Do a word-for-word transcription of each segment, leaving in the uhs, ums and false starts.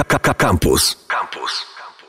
Campus. Campus.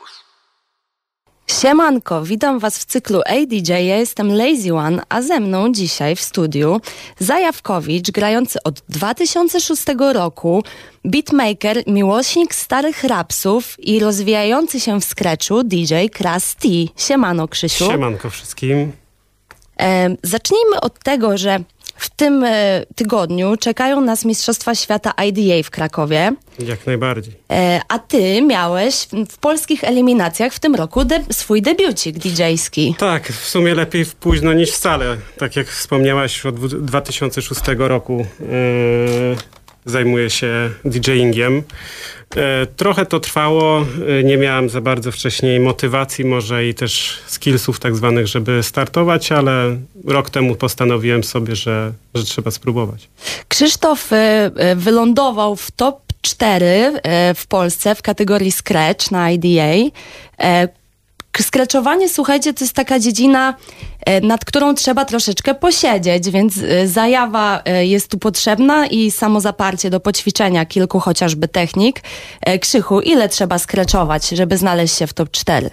Siemanko, witam Was w cyklu Ej D J, ja jestem Lazy One, a ze mną dzisiaj w studiu Zajawkowicz, grający od dwa tysiące szóstego roku, beatmaker, miłośnik starych rapsów i rozwijający się w scratchu D J Kras T. Siemano, Krzysiu. Siemanko wszystkim. E, zacznijmy od tego, że w tym e, tygodniu czekają nas Mistrzostwa Świata I D A w Krakowie. Jak najbardziej. E, a ty miałeś w, w polskich eliminacjach w tym roku de- swój debiucik didżejski. Tak, w sumie lepiej późno niż wcale. Tak jak wspomniałaś, od dwa tysiące szóstego roku yy, zajmuję się DJingiem. E, trochę to trwało, e, nie miałem za bardzo wcześniej motywacji może i też skillsów tak zwanych, żeby startować, ale rok temu postanowiłem sobie, że, że trzeba spróbować. Krzysztof e, wylądował w top cztery e, w Polsce w kategorii Scratch na I D A. E, Scratchowanie, słuchajcie, to jest taka dziedzina, nad którą trzeba troszeczkę posiedzieć, więc zajawa jest tu potrzebna i samozaparcie do poćwiczenia kilku chociażby technik. Krzychu, ile trzeba scratchować, żeby znaleźć się w top cztery?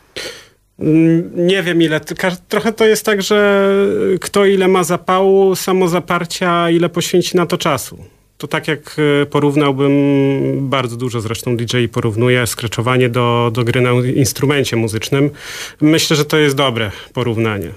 Nie wiem ile, trochę to jest tak, że kto ile ma zapału, samozaparcia, ile poświęci na to czasu. To tak jak porównałbym, bardzo dużo zresztą D J porównuje scratchowanie do, do gry na instrumencie muzycznym. Myślę, że to jest dobre porównanie.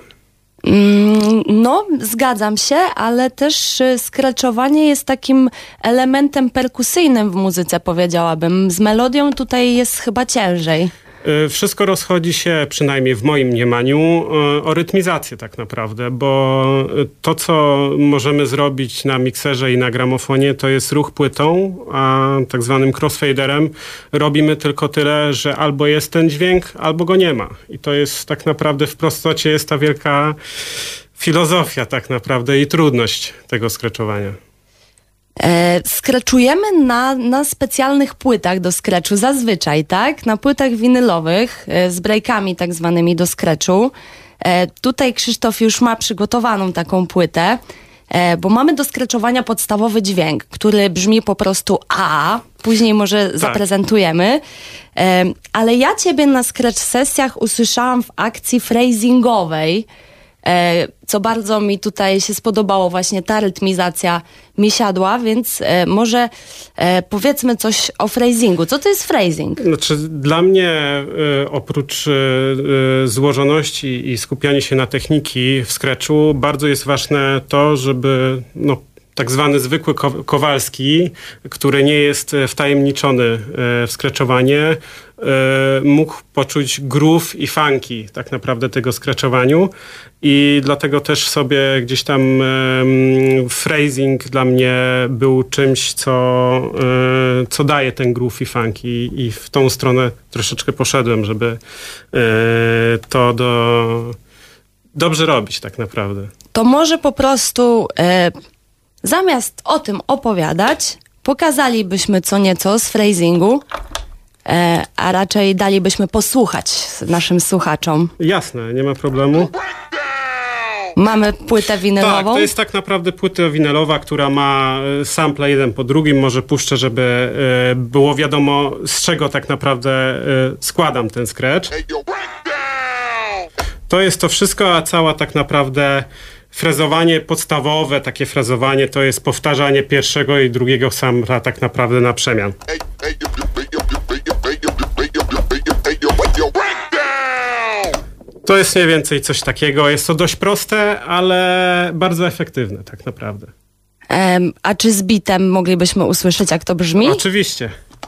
No, zgadzam się, ale też scratchowanie jest takim elementem perkusyjnym w muzyce, powiedziałabym. Z melodią tutaj jest chyba ciężej. Wszystko rozchodzi się, przynajmniej w moim mniemaniu, o rytmizację tak naprawdę, bo to, co możemy zrobić na mikserze i na gramofonie, to jest ruch płytą, a tak zwanym crossfaderem robimy tylko tyle, że albo jest ten dźwięk, albo go nie ma. I to jest tak naprawdę w prostocie jest ta wielka filozofia tak naprawdę i trudność tego scratchowania. E, scratchujemy na, na specjalnych płytach do scratchu zazwyczaj, tak? Na płytach winylowych e, z breakami tak zwanymi do scratchu. E, tutaj Krzysztof już ma przygotowaną taką płytę, e, bo mamy do scratchowania podstawowy dźwięk, który brzmi po prostu A, później może tak zaprezentujemy. E, ale ja ciebie na scratch sesjach usłyszałam w akcji phrasingowej, E, co bardzo mi tutaj się spodobało, właśnie ta rytmizacja mi siadła, więc e, może e, powiedzmy coś o phrasingu. Co to jest phrasing? Znaczy, dla mnie e, oprócz e, złożoności i skupiania się na techniki w scratchu bardzo jest ważne to, żeby no, tak zwany zwykły ko- Kowalski, który nie jest wtajemniczony e, w scratchowanie, mógł poczuć groove i funky tak naprawdę tego scratchowaniu i dlatego też sobie gdzieś tam um, phrasing dla mnie był czymś, co, um, co daje ten groove i funky i w tą stronę troszeczkę poszedłem, żeby um, to do, dobrze robić tak naprawdę. To może po prostu e, zamiast o tym opowiadać, pokazalibyśmy co nieco z phrasingu, E, a raczej dalibyśmy posłuchać naszym słuchaczom. Jasne, nie ma problemu. Mamy płytę winylową? Tak, to jest tak naprawdę płyta winylowa, która ma sample jeden po drugim. Może puszczę, żeby e, było wiadomo, z czego tak naprawdę e, składam ten scratch. To jest to wszystko, a cała tak naprawdę frezowanie podstawowe, takie frezowanie, to jest powtarzanie pierwszego i drugiego sampla tak naprawdę na przemian. To jest mniej więcej coś takiego. Jest to dość proste, ale bardzo efektywne tak naprawdę. Um, a czy z bitem moglibyśmy usłyszeć, jak to brzmi? Oczywiście.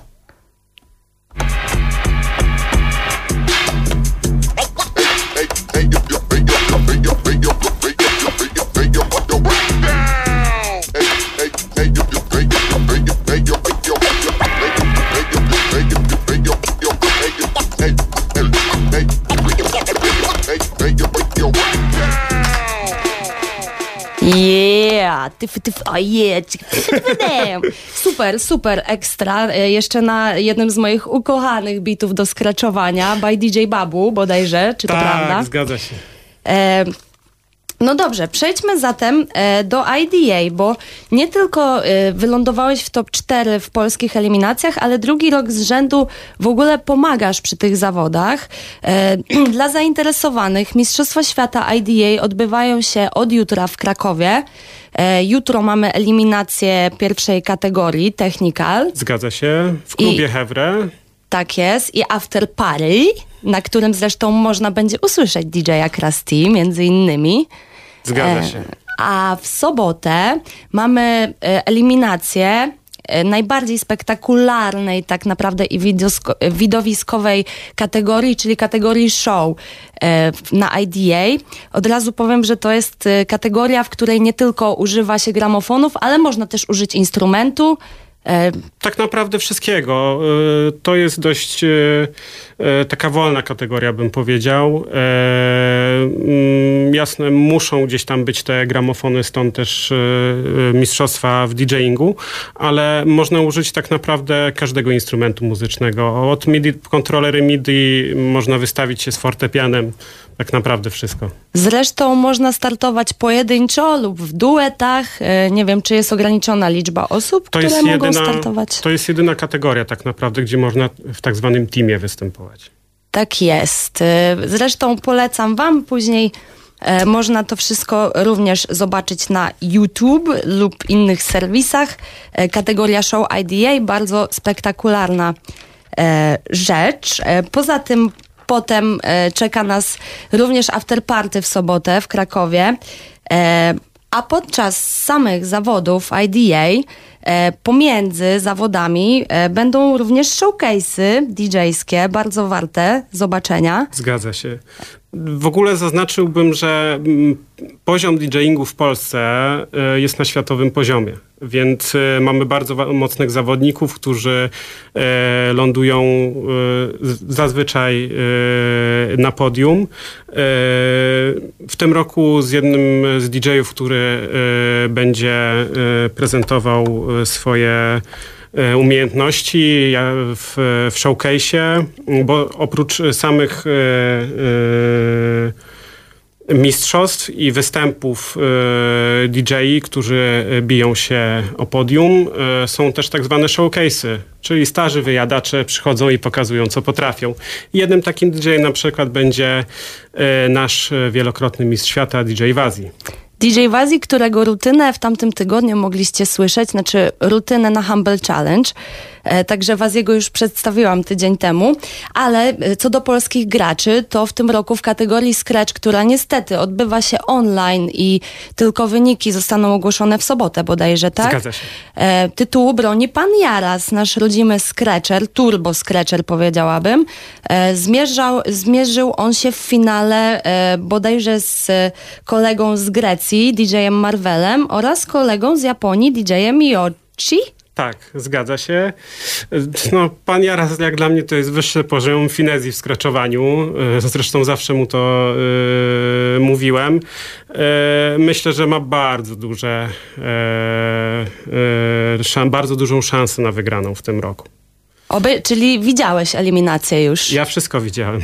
Yeah! Tyf, tyf, oh yeah. Super, super, ekstra. Jeszcze na jednym z moich ukochanych bitów do scratchowania by D J Babu bodajże, czy to tak, prawda? Tak, zgadza się. E, No dobrze, przejdźmy zatem e, do I D A, bo nie tylko e, wylądowałeś w top cztery w polskich eliminacjach, ale drugi rok z rzędu w ogóle pomagasz przy tych zawodach. E, dla zainteresowanych Mistrzostwa Świata I D A odbywają się od jutra w Krakowie. E, jutro mamy eliminację pierwszej kategorii, Technical. Zgadza się, w klubie I... Hevre. Tak jest. I After Party, na którym zresztą można będzie usłyszeć D J-a Krusty, między innymi. Zgadza się. E, a w sobotę mamy e, eliminację e, najbardziej spektakularnej tak naprawdę i widosko, widowiskowej kategorii, czyli kategorii show e, na I D A. Od razu powiem, że to jest e, kategoria, w której nie tylko używa się gramofonów, ale można też użyć instrumentu. Tak naprawdę wszystkiego. To jest dość taka wolna kategoria, bym powiedział. Jasne, muszą gdzieś tam być te gramofony, stąd też mistrzostwa w DJingu, ale można użyć tak naprawdę każdego instrumentu muzycznego. Od MIDI, kontrolery MIDI, można wystawić się z fortepianem. Tak naprawdę wszystko. Zresztą można startować pojedynczo lub w duetach. Nie wiem, czy jest ograniczona liczba osób, to które jest mogą jedyna, startować. To jest jedyna kategoria tak naprawdę, gdzie można w tak zwanym teamie występować. Tak jest. Zresztą polecam wam później. E, można to wszystko również zobaczyć na YouTube lub innych serwisach. E, kategoria Show I D A, bardzo spektakularna e, rzecz. E, poza tym potem e, czeka nas również afterparty w sobotę w Krakowie, e, a podczas samych zawodów I D A e, pomiędzy zawodami e, będą również showcase'y D J-skie, bardzo warte zobaczenia. Zgadza się. W ogóle zaznaczyłbym, że poziom DJingu w Polsce jest na światowym poziomie, więc mamy bardzo mocnych zawodników, którzy lądują zazwyczaj na podium. W tym roku z jednym z D J-ów, który będzie prezentował swoje umiejętności w, w showcase'ie, bo oprócz samych e, e, mistrzostw i występów e, D J-i, którzy biją się o podium, e, są też tak zwane showcase'y, czyli starzy wyjadacze przychodzą i pokazują, co potrafią. Jednym takim D J na przykład będzie e, nasz wielokrotny mistrz świata, D J Wazi. D J Wazi, którego rutynę w tamtym tygodniu mogliście słyszeć, znaczy rutynę na Humble Challenge. E, także Waziego już przedstawiłam tydzień temu. Ale co do polskich graczy, to w tym roku w kategorii Scratch, która niestety odbywa się online i tylko wyniki zostaną ogłoszone w sobotę bodajże, tak? Zgadza się. E, tytułu broni pan Jaras, nasz rodzimy Scratcher, Turbo Scratcher powiedziałabym. E, zmierzał, zmierzył on się w finale e, bodajże z kolegą z Grecji, D J-em Marvelem oraz kolegą z Japonii, D J-em Yoshi. Tak, zgadza się. No, pan Jaras jak dla mnie to jest wyższy poziom finezji w skraczowaniu. Zresztą zawsze mu to yy, mówiłem. Yy, myślę, że ma bardzo duże, yy, yy, szan, bardzo dużą szansę na wygraną w tym roku. Oby, czyli widziałeś eliminację już? Ja wszystko widziałem.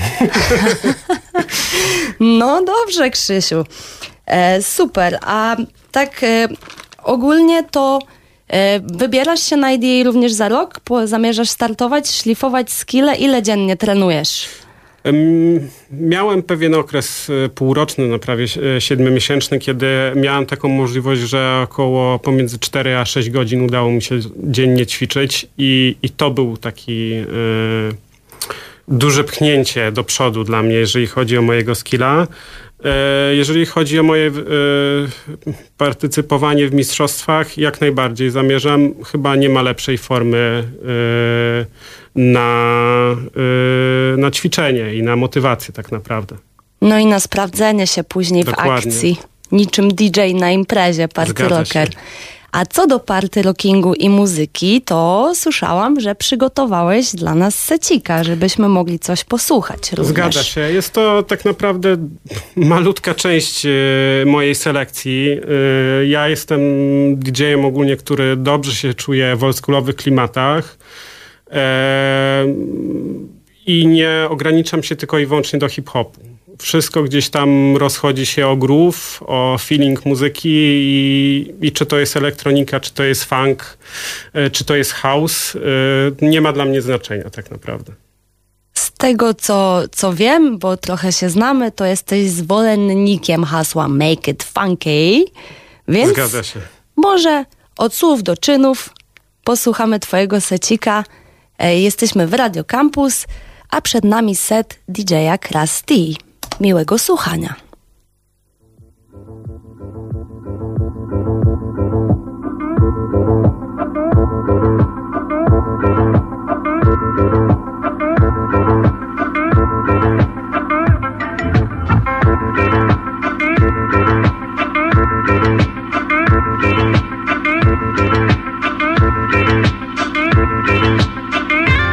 No dobrze, Krzysiu. E, super. A tak e, ogólnie to e, wybierasz się na I D A również za rok? Po, zamierzasz startować, szlifować skille? Ile dziennie trenujesz? Miałem pewien okres półroczny, no prawie siedmiomiesięczny, kiedy miałem taką możliwość, że około pomiędzy cztery a sześć godzin udało mi się dziennie ćwiczyć i, i to był taki y, duże pchnięcie do przodu dla mnie, jeżeli chodzi o mojego skilla. Jeżeli chodzi o moje e, partycypowanie w mistrzostwach, jak najbardziej zamierzam. Chyba nie ma lepszej formy e, na, e, na ćwiczenie i na motywację tak naprawdę. No i na sprawdzenie się później Dokładnie. w akcji. Niczym D J na imprezie, party Zgadza rocker. się. A co do party rockingu i muzyki, to słyszałam, że przygotowałeś dla nas secika, żebyśmy mogli coś posłuchać również. Zgadza się. Jest to tak naprawdę malutka część e, mojej selekcji. E, ja jestem D J-em ogólnie, który dobrze się czuje w oldschoolowych klimatach e, i nie ograniczam się tylko i wyłącznie do hip-hopu. wszystko gdzieś tam rozchodzi się o groove, o feeling muzyki i, i czy to jest elektronika, czy to jest funk, czy to jest house, nie ma dla mnie znaczenia tak naprawdę. Z tego, co, co wiem, bo trochę się znamy, to jesteś zwolennikiem hasła Make it funky, więc Zgadza się. może od słów do czynów posłuchamy twojego secika. Jesteśmy w Radio Campus, a przed nami set D J-a Krusty. Miłego słuchania.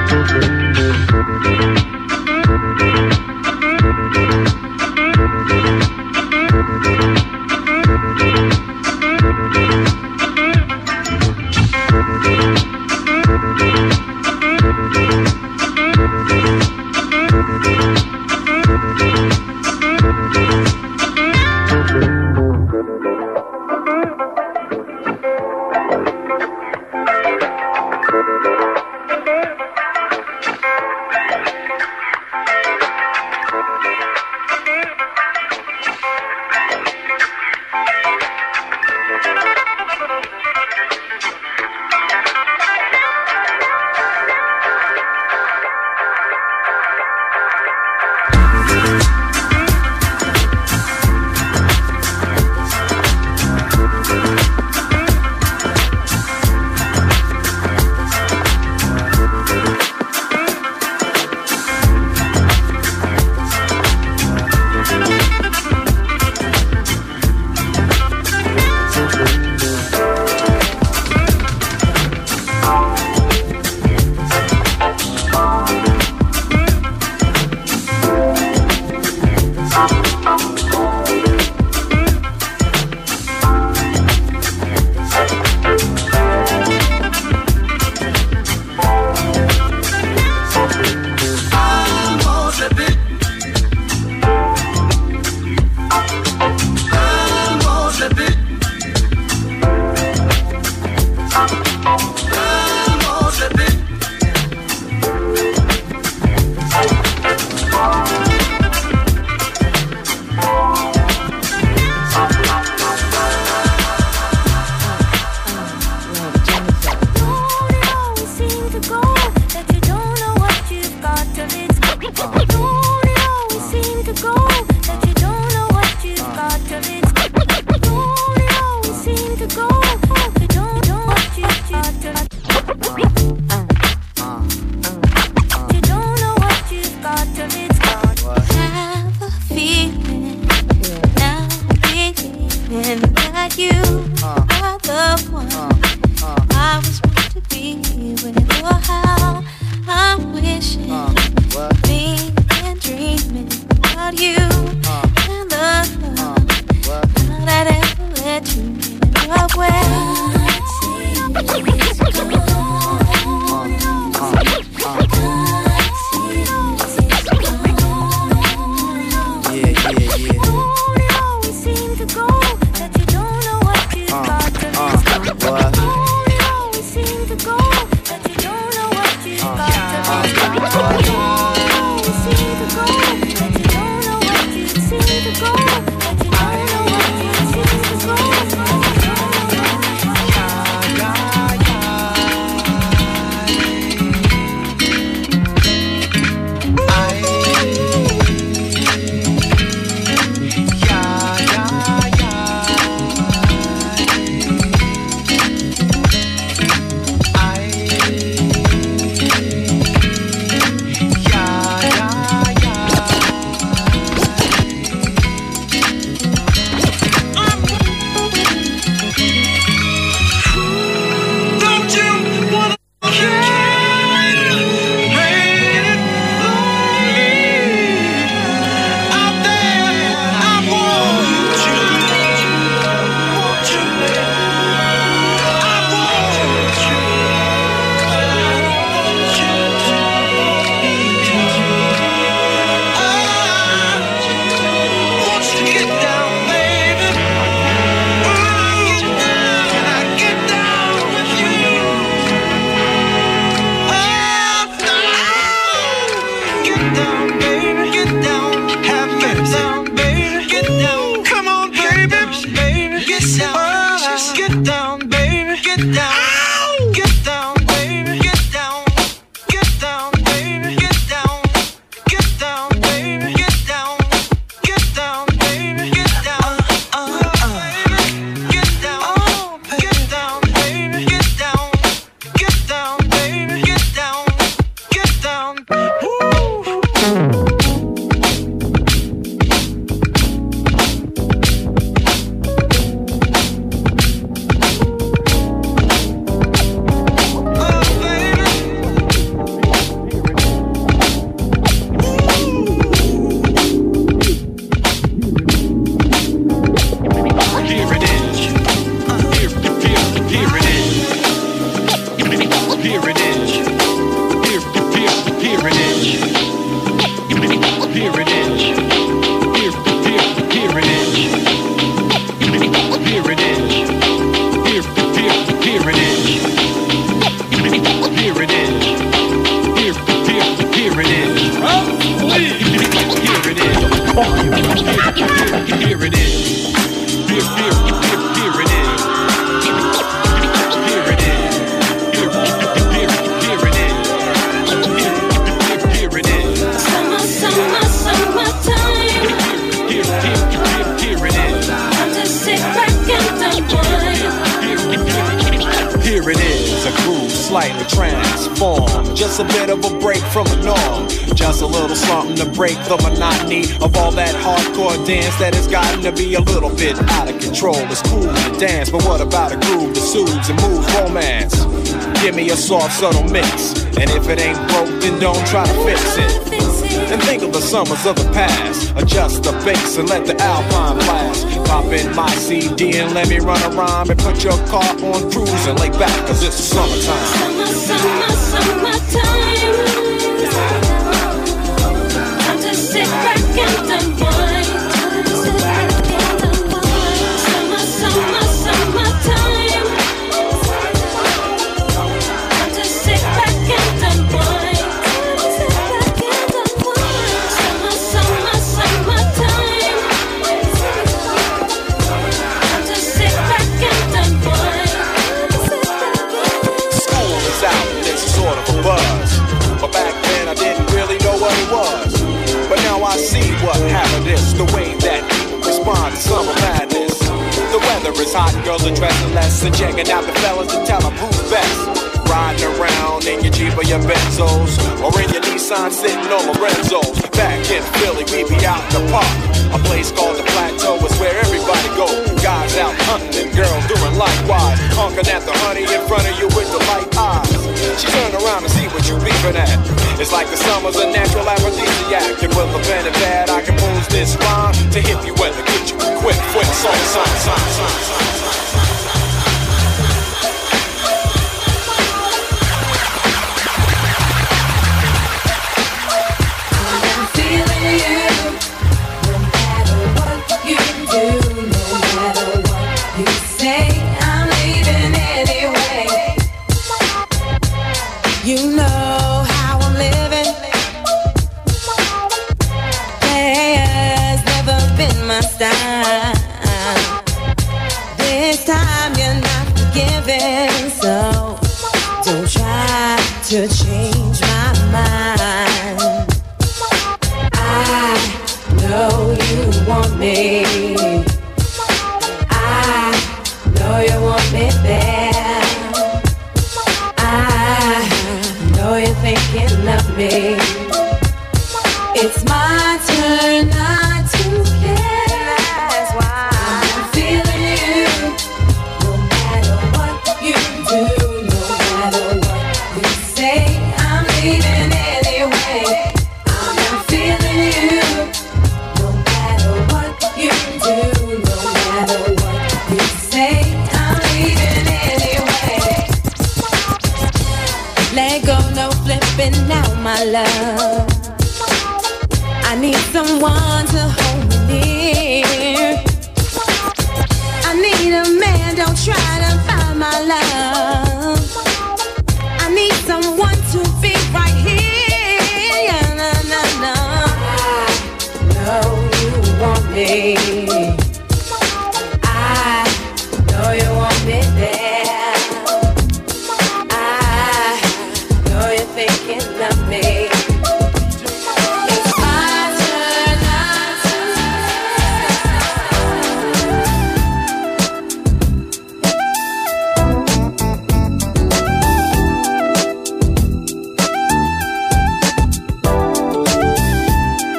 We'll be right back. Here it is. Here it is. Here, here, here it is. Here it is. Here, here, here it is. Here it is. Here, here, here it is. Oh, please. Here it is. Here, here it is. Here, here, here, here it is. Here it is. Here, here, here it is. Here, here it is. Summer, summer, summertime. Here, here, here, here it is. I'm just sit back and unwind. Here it is, a groove slightly transformed. Just a bit of a break from the norm. Just a little something to break the monotony of all that hardcore dance that has gotten to be a little bit out of control. It's cool to dance, but what about a groove that soothes and moves romance? Give me a soft, subtle mix, and if it ain't broke, then don't try to fix it. And think of the summers of the past. Adjust the bass and let the Alpine blast. Pop in my C D and let me run a rhyme and put your car on cruise and lay back, cause it's summertime. Summer, summer, summertime. I'm just sit back and unwind. Summer, summer, summertime. I'm just sit back and unwind. Summer, summer, summertime. I'm just sit back and unwind. School is out, there's sort of a buzz. But back then I didn't really know what it was. But now I see what happened is the way that people respond to summer madness. The weather is hot, girls are dressing less and checking out the fellas to tell them who's best. Riding around in your Jeep or your Benzos, or in your Nissan sitting on Lorenzo's. Back in Philly, we be out in the park. A place called the Plateau is where everybody go. Guys out hunting and girls doing likewise. Honking at the honey in front of you with the light eyes. She turn around and see what you beeping at. It's like the summer's a natural aphrodisiac. And with a pen and pad, I compose this rhyme to hit you weather, get you quick, quick, song, song, song, song, song. You know how I'm living. Players never been my style. This time you're not forgiving, so don't try to change my mind. I know you want me. I know you want me there. You're thinking of me. It's my turn not to care. That's why I'm feeling you. No matter what you do, no matter what you say, I'm leaving anyway. I'm not feeling you. No matter what you do, no matter what you say, I'm leaving anyway. Let go, no flipping now, my love. I need someone to hold me near. I need a man, don't try to find my love. I need someone to be right here. Yeah, no, no, no. I know you want me. I know you want me there. Thinking of me. It's my turn not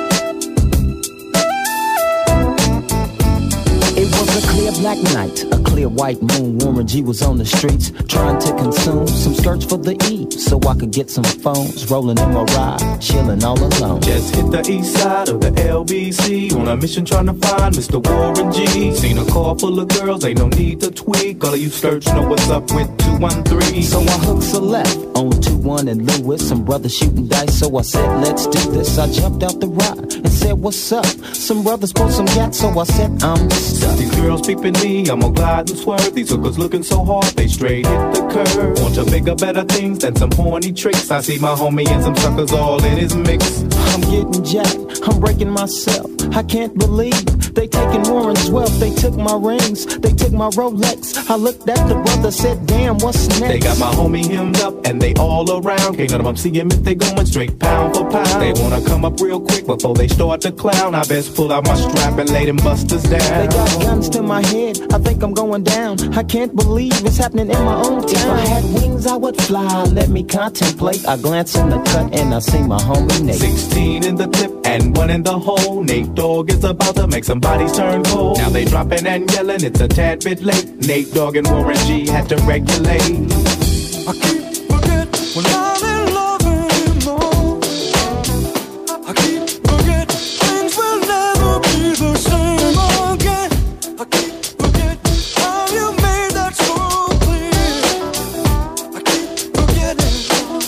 It was a clear black night, a clear clear white moon, Warren G was on the streets trying to consume some skirts for the E, so I could get some phones. Rolling in my ride, chilling all alone. Just hit the east side of the L B C on a mission trying to find Mister Warren G. Seen a car full of girls, ain't no need to tweak. All of you skirts know what's up with two one three. So I hooked a left on two one and Lewis. Some brothers shooting dice, so I said, let's do this. I jumped out the ride and said, what's up? Some brothers pulled some gas, so I said, I'm stuck. These girls peeping me, I'm gonna glide and swerve. These hookers looking so hard, they straight hit the curve. Want to bigger, better things than some horny tricks. I see my homie and some suckers all in his mix. I'm getting jacked, I'm breaking myself. I can't believe they taking Warren's wealth. They took my rings, they took my Rolex. I looked at the brother, said, damn, what's next? They got my homie hemmed up and they all around. Can't none of them see him if they going straight pound for pound. They wanna come up real quick before they start to clown. I best pull out my strap and lay them busters down. They got guns to my head, I think I'm going down. I can't believe it's happening in my own town. If I had wings, I would fly, let me contemplate. I glance in the cut and I see my homie Nate. Sixteen in the clip and one in the hole. Nate Dogg is about to make some bodies turn cold. Now they dropping and yelling, it's a tad bit late. Nate Dogg and Warren G had to regulate. I keep forget when I'm in love anymore. I keep forget things will never be the same again. I keep forget how you made that so clear. I keep forgetting.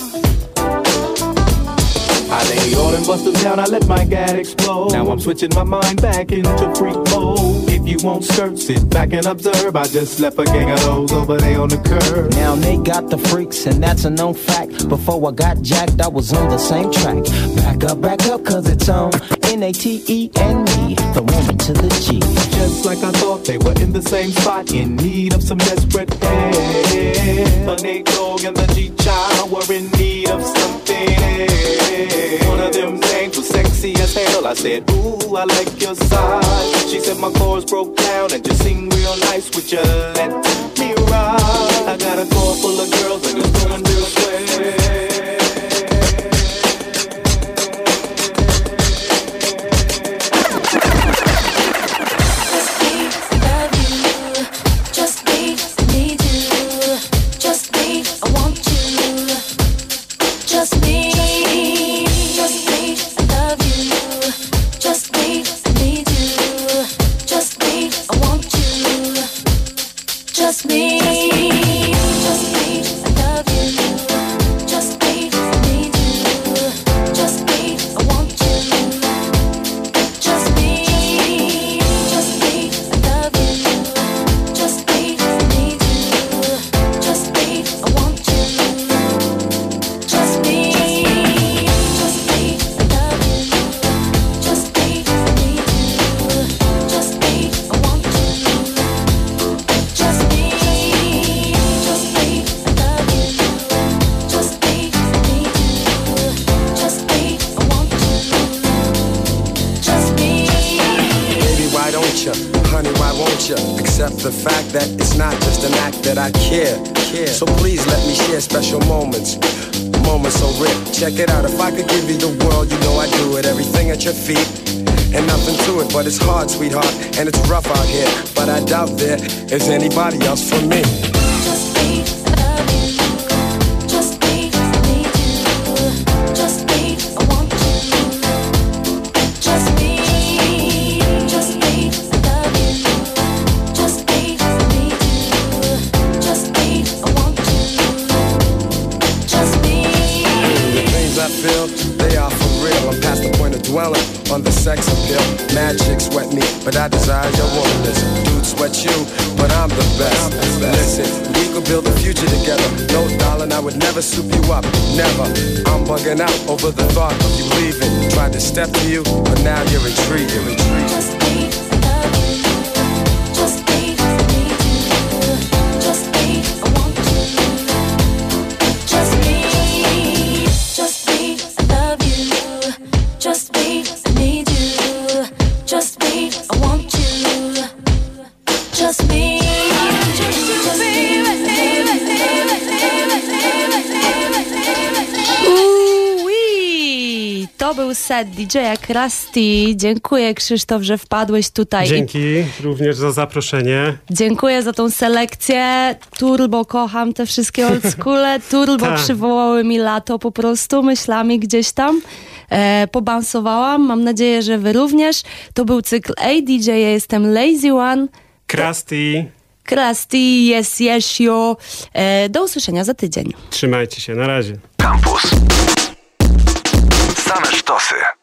I lay all them busters down, I let my gad explode. Now I'm switching my mind back into freak mode. If you won't skirt, sit back and observe. I just left a gang of those over there on the curb. Now they got the freaks and that's a known fact. Before I got jacked, I was on the same track. Back up, back up, cause it's on N A T E and me, the woman to the G. Just like I thought, they were in the same spot, in need of some desperate help. The Nate Dogg and the G-Child were in need of something. One of them names was sexy as hell. I said, ooh, I like your side. She said my chords broke down and just sing real nice. Would you let me ride? I got a car full of girls and it's going real swell. The fact that it's not just an act that I care, care. So please let me share special moments, moments so rare. Check it out, if I could give you the world, you know I do it. Everything at your feet, and nothing to it. But it's hard, sweetheart, and it's rough out here. But I doubt there is anybody else for me. Just be, love you. Just be, need you. Just be, I want you. Just be, just be, love you. Just be, need you. Just be, I want you. Just be. The things I feel, they are for real. I'm past the point of dwelling on the sex appeal. Mad chicks sweat me, but I desire your womanness. Dudes sweat you, but I'm the best. Listen, we could build a future together. No, darling, I would never soup you up. Never. I'm bugging out over the thought of you leaving. Tried to step to you, but now you're intrigued. You're intrigued. Just be, love you. Just be, need you. Just be, I want you. Just be, just be, love you. Just be, need you. Just be, I want you. Just be, just be, Ui, to To był set D J-a Krusty. Dziękuję, Krzysztof, że wpadłeś tutaj. Dzięki również za zaproszenie. Dziękuję za tą selekcję. Turbo kocham te wszystkie oldschoole. Turbo Tak. przywołały mi lato po prostu myślami gdzieś tam. E, pobansowałam. Mam nadzieję, że wy również. To był cykl Ej D J, ja jestem Lazy One. Krusty, Krusty, yes, yes, yo. E, do usłyszenia za tydzień. trzymajcie się, na razie. Campus. Same sztosy.